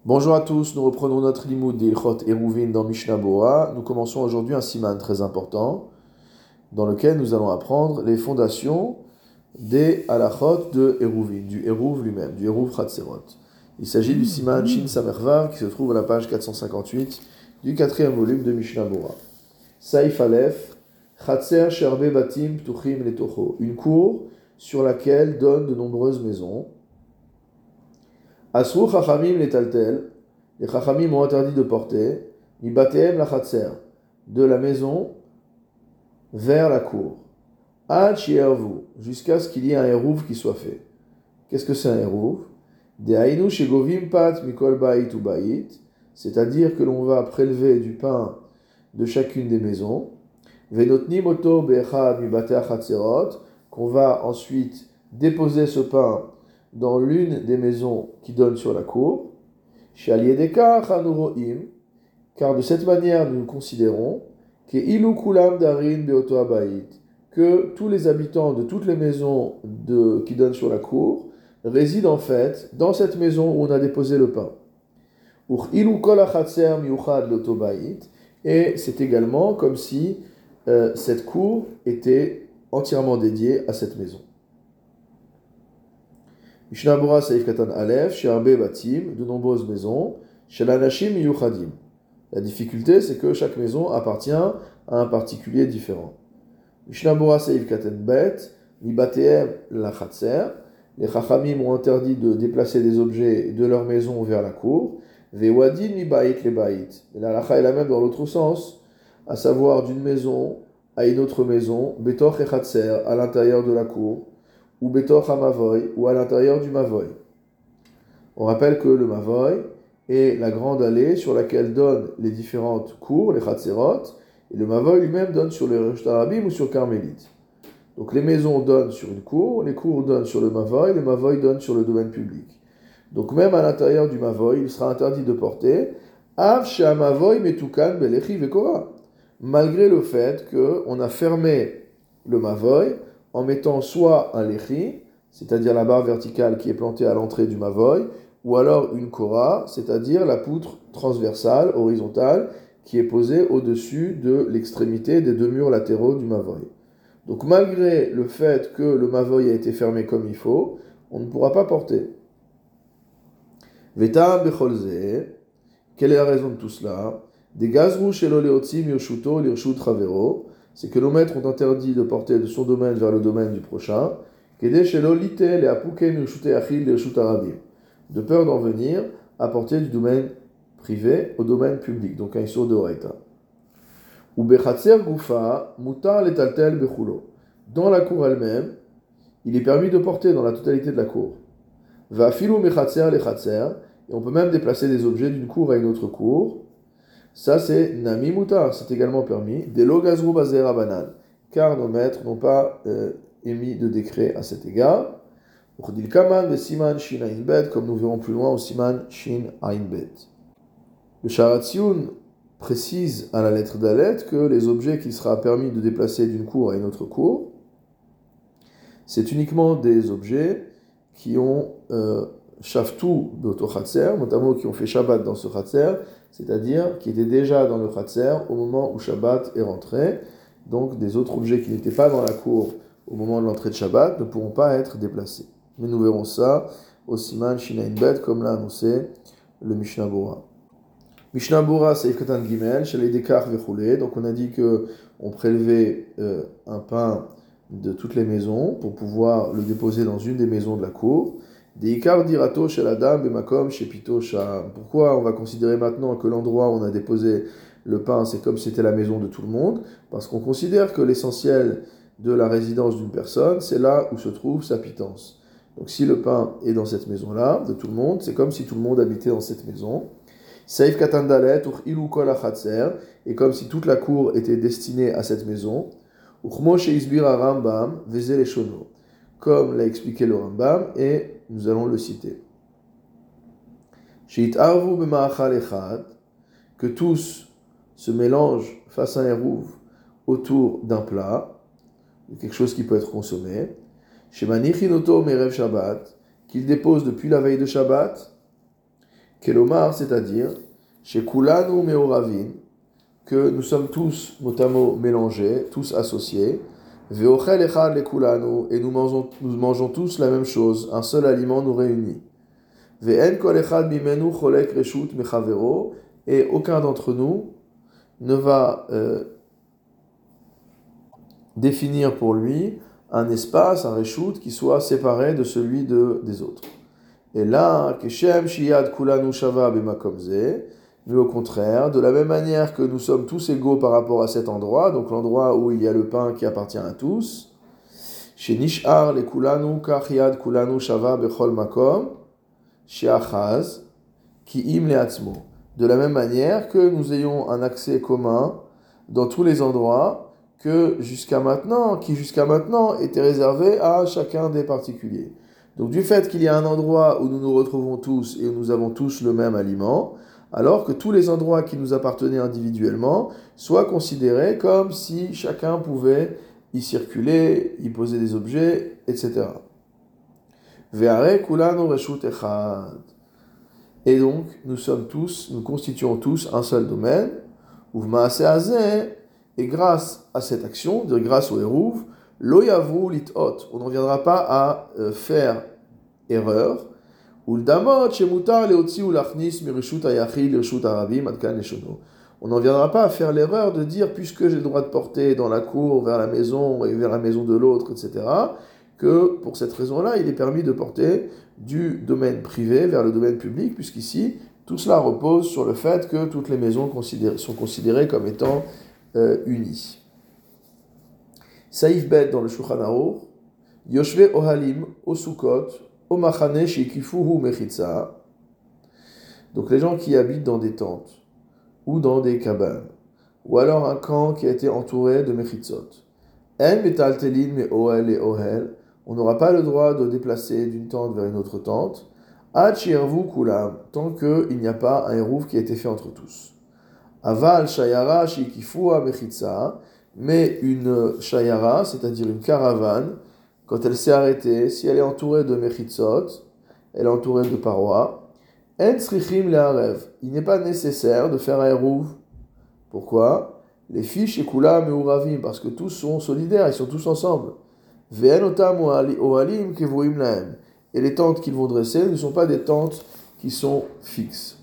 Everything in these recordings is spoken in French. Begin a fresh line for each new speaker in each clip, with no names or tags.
Bonjour à tous, nous reprenons notre limoud d'Ilchot Eruvin dans Mishnah Bora. Nous commençons aujourd'hui un siman très important dans lequel nous allons apprendre les fondations des halachot de Eruvin, du Eruv lui-même, du Eruv Chatzerot. Il s'agit du siman Shin Samervav qui se trouve à la page 458 du quatrième volume de Mishnah Bora. Saif Aleph, Chatzer Sherbe Batim Ptuchim Letocho, une cour sur laquelle donnent de nombreuses maisons. Asru Chachamim letaltel, les Chachamim ont interdit de porter, mi bateem la chatzer, de la maison vers la cour. Ad shiervu, jusqu'à ce qu'il y ait un eruv qui soit fait. Qu'est-ce que c'est un eruv? De hainu shegovim pat mikol bait ou bait, c'est-à-dire que l'on va prélever du pain de chacune des maisons. Venotnim oto be'echad mi batea chatzerot, qu'on va ensuite déposer ce pain dans l'une des maisons qui donne sur la cour, car de cette manière nous considérons que tous les habitants de toutes les maisons qui donnent sur la cour résident en fait dans cette maison où on a déposé le pain. Et c'est également comme si cette cour était entièrement dédiée à cette maison. Mishnah Bora Saif Katan Aleph, Sherbe Batim, de nombreuses maisons, Shel Anashim Yuchadim. La difficulté, c'est que chaque maison appartient à un particulier différent. Mishnah Bora Saif Katan Bet, Mibateem la Chatzer. Les Chachamim ont interdit de déplacer des objets de leur maison vers la cour. Vewadin Mibait le Bait. Et la lacha est la même dans l'autre sens, à savoir d'une maison à une autre maison, Betoch et Chatzer, à l'intérieur de la cour, ou Betoch Mavoy, ou à l'intérieur du Mavoy. On rappelle que le Mavoy est la grande allée sur laquelle donnent les différentes cours, les Chatzerot, et le Mavoy lui-même donne sur les Reshut Arabim ou sur Carmélite. Donc les maisons donnent sur une cour, les cours donnent sur le Mavoy donnent sur le domaine public. Donc même à l'intérieur du Mavoy, il sera interdit de porter Av Shea Mavoy Metukan Belechi Vekora, malgré le fait qu'on a fermé le Mavoy en mettant soit un lechi, c'est-à-dire la barre verticale qui est plantée à l'entrée du mavoy, ou alors une kora, c'est-à-dire la poutre transversale, horizontale, qui est posée au-dessus de l'extrémité des deux murs latéraux du mavoy. Donc malgré le fait que le mavoy a été fermé comme il faut, on ne pourra pas porter. Veta becholze, quelle est la raison de tout cela? Des gazrou shelo leotzi mioshuto lirshut ravero, c'est que nos maîtres ont interdit de porter de son domaine vers le domaine du prochain, de peur d'en venir à porter du domaine privé au domaine public, donc un issur de Horaïta. Dans la cour elle-même, il est permis de porter dans la totalité de la cour. Et on peut même déplacer des objets d'une cour à une autre cour. Ça, c'est Nami Mutar, c'est également permis. Delo Gazru Bazera Banan, car nos maîtres n'ont pas émis de décret à cet égard. Uchdil Kaman ve Siman Shin Ain Bet, comme nous verrons plus loin au Siman Shin Ain Bet. Le Sharatziun précise à la lettre d'Alet que les objets qu'il sera permis de déplacer d'une cour à une autre cour, c'est uniquement des objets qui ont Shaftu Beoto Chatzer, notamment qui ont fait Shabbat dans ce Chatzer, c'est-à-dire qui étaient déjà dans le Chatzer au moment où Shabbat est rentré. Donc des autres objets qui n'étaient pas dans la cour au moment de l'entrée de Shabbat ne pourront pas être déplacés. Mais nous verrons ça au Siman Shinain Bet, comme l'a annoncé le Mishnah Bora. Mishnah Bora, Seif Katan Gimel, Shalei Dekar Vechoulé. Donc on a dit qu'on prélevait un pain de toutes les maisons pour pouvoir le déposer dans une des maisons de la cour. Deikar dirato shel adam bemakom shepito sham. Pourquoi on va considérer maintenant que l'endroit où on a déposé le pain, c'est comme si c'était la maison de tout le monde? Parce qu'on considère que l'essentiel de la résidence d'une personne, c'est là où se trouve sa pitance. Donc si le pain est dans cette maison-là, de tout le monde, c'est comme si tout le monde habitait dans cette maison. Saif katandalet ur ilu kol achatzer, et comme si toute la cour était destinée à cette maison. Uchmo sheisbir Rambam vezel eshono, comme l'a expliqué le Rambam, et nous allons le citer. Sheit'arvu b'ma'achal echad, que tous se mélangent face à un eruv autour d'un plat, de quelque chose qui peut être consommé. Shemanichin oto merev Shabbat, qu'il dépose depuis la veille de Shabbat. Kelomar, c'est-à-dire, chez Kulanu Meoravin, que nous sommes tous mot à mot mélangés, tous associés, Veochel Echad le Kulanu, et nous mangeons tous la même chose, un seul aliment nous réunit. Ve'en kol echad mimenu cholek reshut mechavero, et aucun d'entre nous ne va définir pour lui un espace, un reshut, qui soit séparé de celui des autres. Et là, Keshem Shiyad Kulanu Shava Bemakomze, mais au contraire, de la même manière que nous sommes tous égaux par rapport à cet endroit, donc l'endroit où il y a le pain qui appartient à tous, chez Nishar le Kulanu Kach Kulanu Shava Bechol Makom, chez Achaz, qui im leatzmo. De la même manière que nous ayons un accès commun dans tous les endroits qui jusqu'à maintenant était réservé à chacun des particuliers. Donc du fait qu'il y a un endroit où nous nous retrouvons tous et où nous avons tous le même aliment, alors que tous les endroits qui nous appartenaient individuellement soient considérés comme si chacun pouvait y circuler, y poser des objets, etc. Ve'are kulanu reshut echad. Et donc, nous constituons tous un seul domaine, uvmaase hazeh, et grâce à cette action, grâce au hérouv, lo yavu litot, on n'en viendra pas à faire erreur, ou l'damot shemutar leotzi ou lachnis mirishut ayachid lirshut arabim adkan leshono. On n'en viendra pas à faire l'erreur de dire, puisque j'ai le droit de porter dans la cour, vers la maison et vers la maison de l'autre, etc., que pour cette raison-là, il est permis de porter du domaine privé vers le domaine public, puisqu'ici, tout cela repose sur le fait que toutes les maisons sont considérées comme étant unies. Saïf Bet dans le Shulchan Aruch, Yoshve Ohalim, Osukot, Omachane Shikifuhu Mechitza. Donc les gens qui habitent dans des tentes, ou dans des cabanes, ou alors un camp qui a été entouré de Mechitzot. En Metaltelin Me Ohel et Ohel, on n'aura pas le droit de déplacer d'une tente vers une autre tente, Ad Shirvu Kulam, tant qu'il n'y a pas un hérouf qui a été fait entre tous. Aval Shayara Shikifua Mechitza, mais une Shayara, c'est-à-dire une caravane, quand elle s'est arrêtée, si elle est entourée de Mechitzot, elle est entourée de parois, En Srichim Leharev, il n'est pas nécessaire de faire un hérouf. Pourquoi? Les fiches et Kula Meuravim, parce que tous sont solidaires, ils sont tous ensemble. Ve'enotam ohalim kevuim lahem. Et les tentes qu'ils vont dresser ne sont pas des tentes qui sont fixes.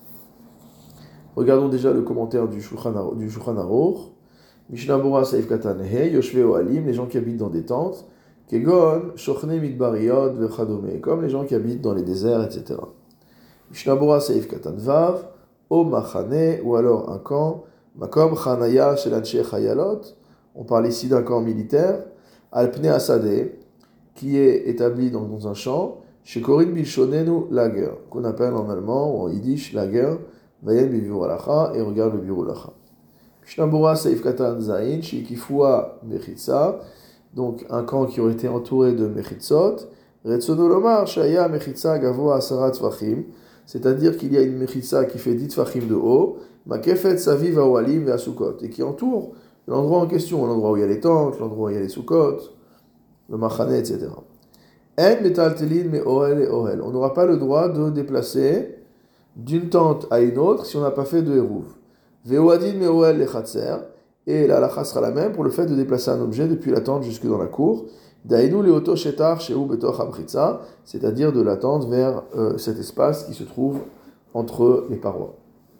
Regardons déjà le commentaire du Shulchan Aruch. Mishnah Bora Saif Katan He, Yoshve Ohalim, les gens qui habitent dans des tentes, Kegon, Shochne Midbariot, Vechadome, comme les gens qui habitent dans les déserts, etc. Mishnah Bora Saif Katan Vav, O Machane, ou alors un camp, Makom Chanaya Shelanche Chayalot, on parle ici d'un camp militaire, Alpne Asadeh, qui est établi dans un champ, chez Korin Bilshonenu Lager, qu'on appelle en allemand ou en yiddish Lager, Vayen Biviru Alacha, et regarde le Biviru Alacha. Mishnah Saif Katan Zain, Shikifua Mechitza, donc un camp qui aurait été entouré de Mechitzot, Retsono Lomar, Shaya Mechitza Gavoa Asara Tvachim, c'est-à-dire qu'il y a une Mechitza qui fait 10 Tvachim de haut, Makefet Saviv Awalim et Asukot, et qui entoure l'endroit en question, l'endroit où il y a les tentes, l'endroit où il y a les Sukot, le Machane, etc. En Metal Telin me Ohel et Ohel. On n'aura pas le droit de déplacer d'une tente à une autre si on n'a pas fait de Hérouv. Ve'oadin me Ohel le Chatzer. Et la halakha sera la même pour le fait de déplacer un objet depuis la tente jusque dans la cour. Dainu leoto shetar sheu betoch hamchitza, c'est-à-dire de la tente vers cet espace qui se trouve entre les parois.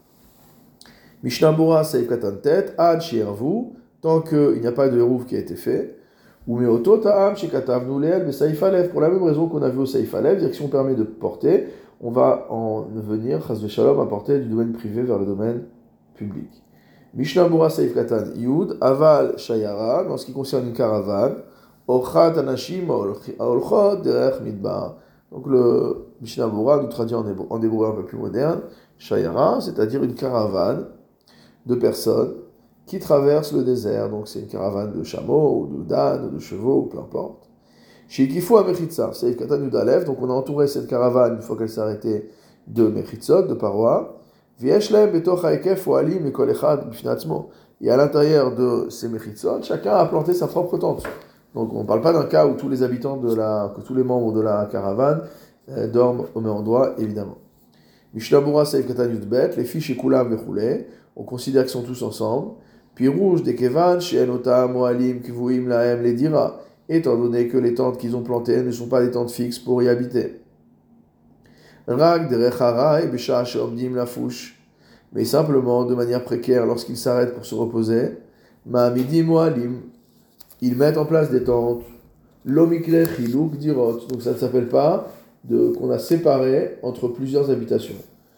Mishnah Bora Saif Katan Tet, Ad Shirvu, tant qu'il n'y a pas de Hérouv qui a été fait, ou Meoto Ta'am Shekatavnu Leel be Saif Alev, pour la même raison qu'on a vu au Saif Alev, c'est-à-dire que si on permet de porter, on va en venir, Chas Veshalom, à porter du domaine privé vers le domaine public. Mishnah Bora Saif Katan Yud, Aval Shayara, en ce qui concerne une caravane, Ochat Anashim Aolchot Derech Midbar. Donc le Mishnah Bora nous traduit en hébreu un peu plus moderne, Shayara, c'est-à-dire une caravane de personnes qui traversent le désert. Donc c'est une caravane de chameaux, ou de d'ânes, ou de chevaux, ou peu importe. Shikifu a Mechitza, Saif Katan Yud Alev, donc on a entouré cette caravane, une fois qu'elle s'est arrêtée, de Mechitzot, de parois. Vieshlem betoch haekef ohalim ekol echad bifnei atzmo. Et à l'intérieur de ces Mechitzot, chacun a planté sa propre tente. Donc on ne parle pas d'un cas où tous les habitants que tous les membres de la caravane dorment au même endroit, évidemment. Mishnabura Seif Katan Yudbet, les filles chez Kulam Vechoulé, on considère qu'ils sont tous ensemble. Puis rouge des Kevan, chez Enota, Moalim, Kivouim, Laem, les Dira, étant donné que les tentes qu'ils ont plantées ne sont pas des tentes fixes pour y habiter. Rag de Rechara et Besha Sheomdim la Fouche, mais simplement de manière précaire lorsqu'ils s'arrêtent pour se reposer. Ma'amidi Moalim, ils mettent en place des tentes. Lomikle Chiluk Dirot, donc ça ne s'appelle pas qu'on a séparé entre plusieurs habitations.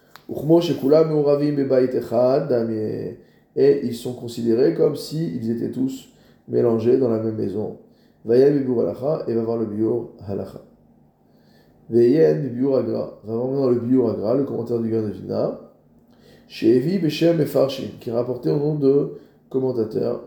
Et ils sont considérés comme s'ils étaient tous mélangés dans la même maison. Vayel Bibur Halacha, et va voir le Biur Halacha. Veyen Bibur Agra, va voir maintenant le Biur Agra, le commentaire du Gan de Vina. Chez Evi Beshem et Farshim, qui est rapporté au nom de commentateurs.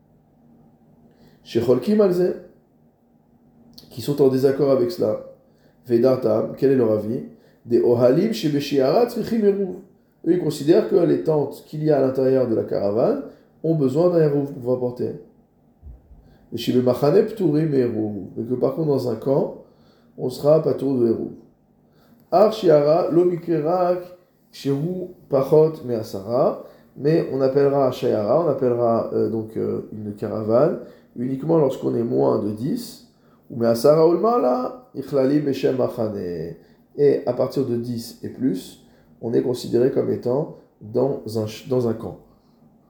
Chez Cholkim Alze, qui sont en désaccord avec cela. Vedartam, quel est leur avis? Des Ohalim chez Beshiarat Tzrichim Eruv. Eux, ils considèrent que les tentes qu'il y a à l'intérieur de la caravane ont besoin d'un Eruv pour pouvoir porter. Et chez Bemachane Pturim Eruv. Mais que par contre, dans un camp, on sera pas tour de Eruv. Ar Shiara, Lomikerak, Shehu Pachot Measara. Mais on appellera Shayara, on appellera une caravane uniquement lorsqu'on est moins de 10. Ou Measara Ulmala, Ichlali Beshem Machane. Et à partir de 10 et plus, on est considéré comme étant dans un camp.